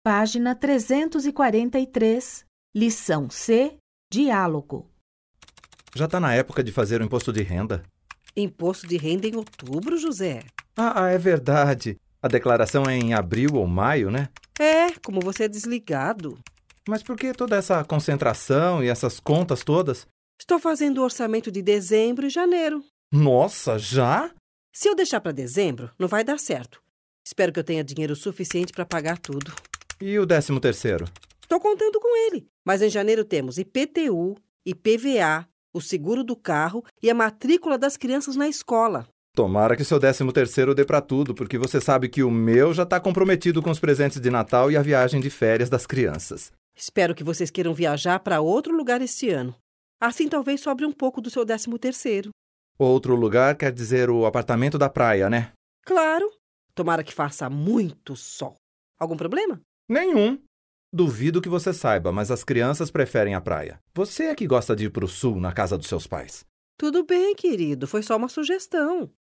Página 343, lição C, diálogo. Já está na época de fazer o imposto de renda. Imposto de renda em outubro, José? É verdade. A declaração é em abril ou maio, né? Como você é desligado. Mas por que toda essa concentração e essas contas todas? Estou fazendo o orçamento de dezembro e janeiro. Nossa, já? Se eu deixar para dezembro, não vai dar certo. Espero que eu tenha dinheiro suficiente para pagar tudo. E o 13º? Estou contando com ele. Mas em janeiro temos IPTU, IPVA, o seguro do carro e a matrícula das crianças na escola. Tomara que seu 13º dê para tudo, porque você sabe que o meu já está comprometido com os presentes de Natal e a viagem de férias das crianças. Espero que vocês queiram viajar para outro lugar este ano. Assim talvez sobre um pouco do seu 13º. Outro lugar quer dizer o apartamento da praia, né? Claro. Tomara que faça muito sol. Algum problema? Nenhum. Duvido que você saiba, mas as crianças preferem a praia. Você é que gosta de ir para o sul, na casa dos seus pais. Tudo bem, querido. Foi só uma sugestão.